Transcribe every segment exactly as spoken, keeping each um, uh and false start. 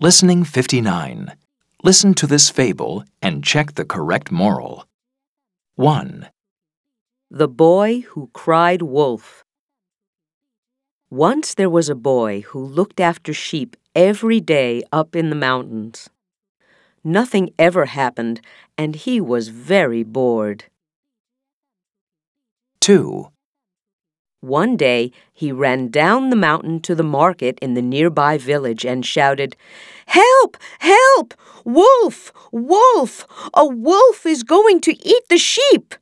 Listening fifty-nine. Listen to this fable and check the correct moral. one. The Boy Who Cried Wolf. Once there was a boy who looked after sheep every day up in the mountains. Nothing ever happened, and he was very bored. two. One day, he ran down the mountain to the market in the nearby village and shouted, "Help! Help! Wolf! Wolf! A wolf is going to eat the sheep!"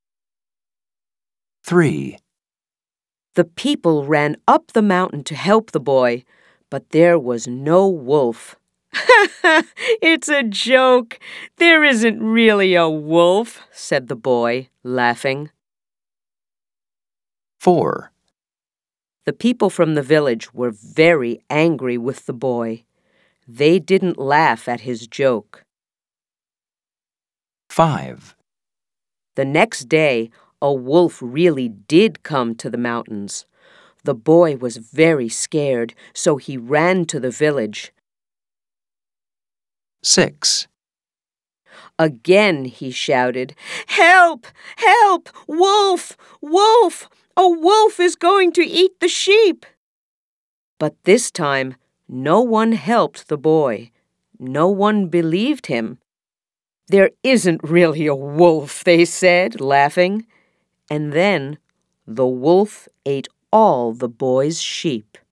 three. The people ran up the mountain to help the boy, but there was no wolf. "It's a joke. There isn't really a wolf," said the boy, laughing. four. The people from the village were very angry with the boy. They didn't laugh at his joke. five. The next day, a wolf really did come to the mountains. The boy was very scared, so he ran to the village. six. Again he shouted, "Help! Help! Wolf! Wolf! A wolf is going to eat the sheep!" But this time, no one helped the boy. No one believed him. "There isn't really a wolf," they said, laughing. And then the wolf ate all the boy's sheep.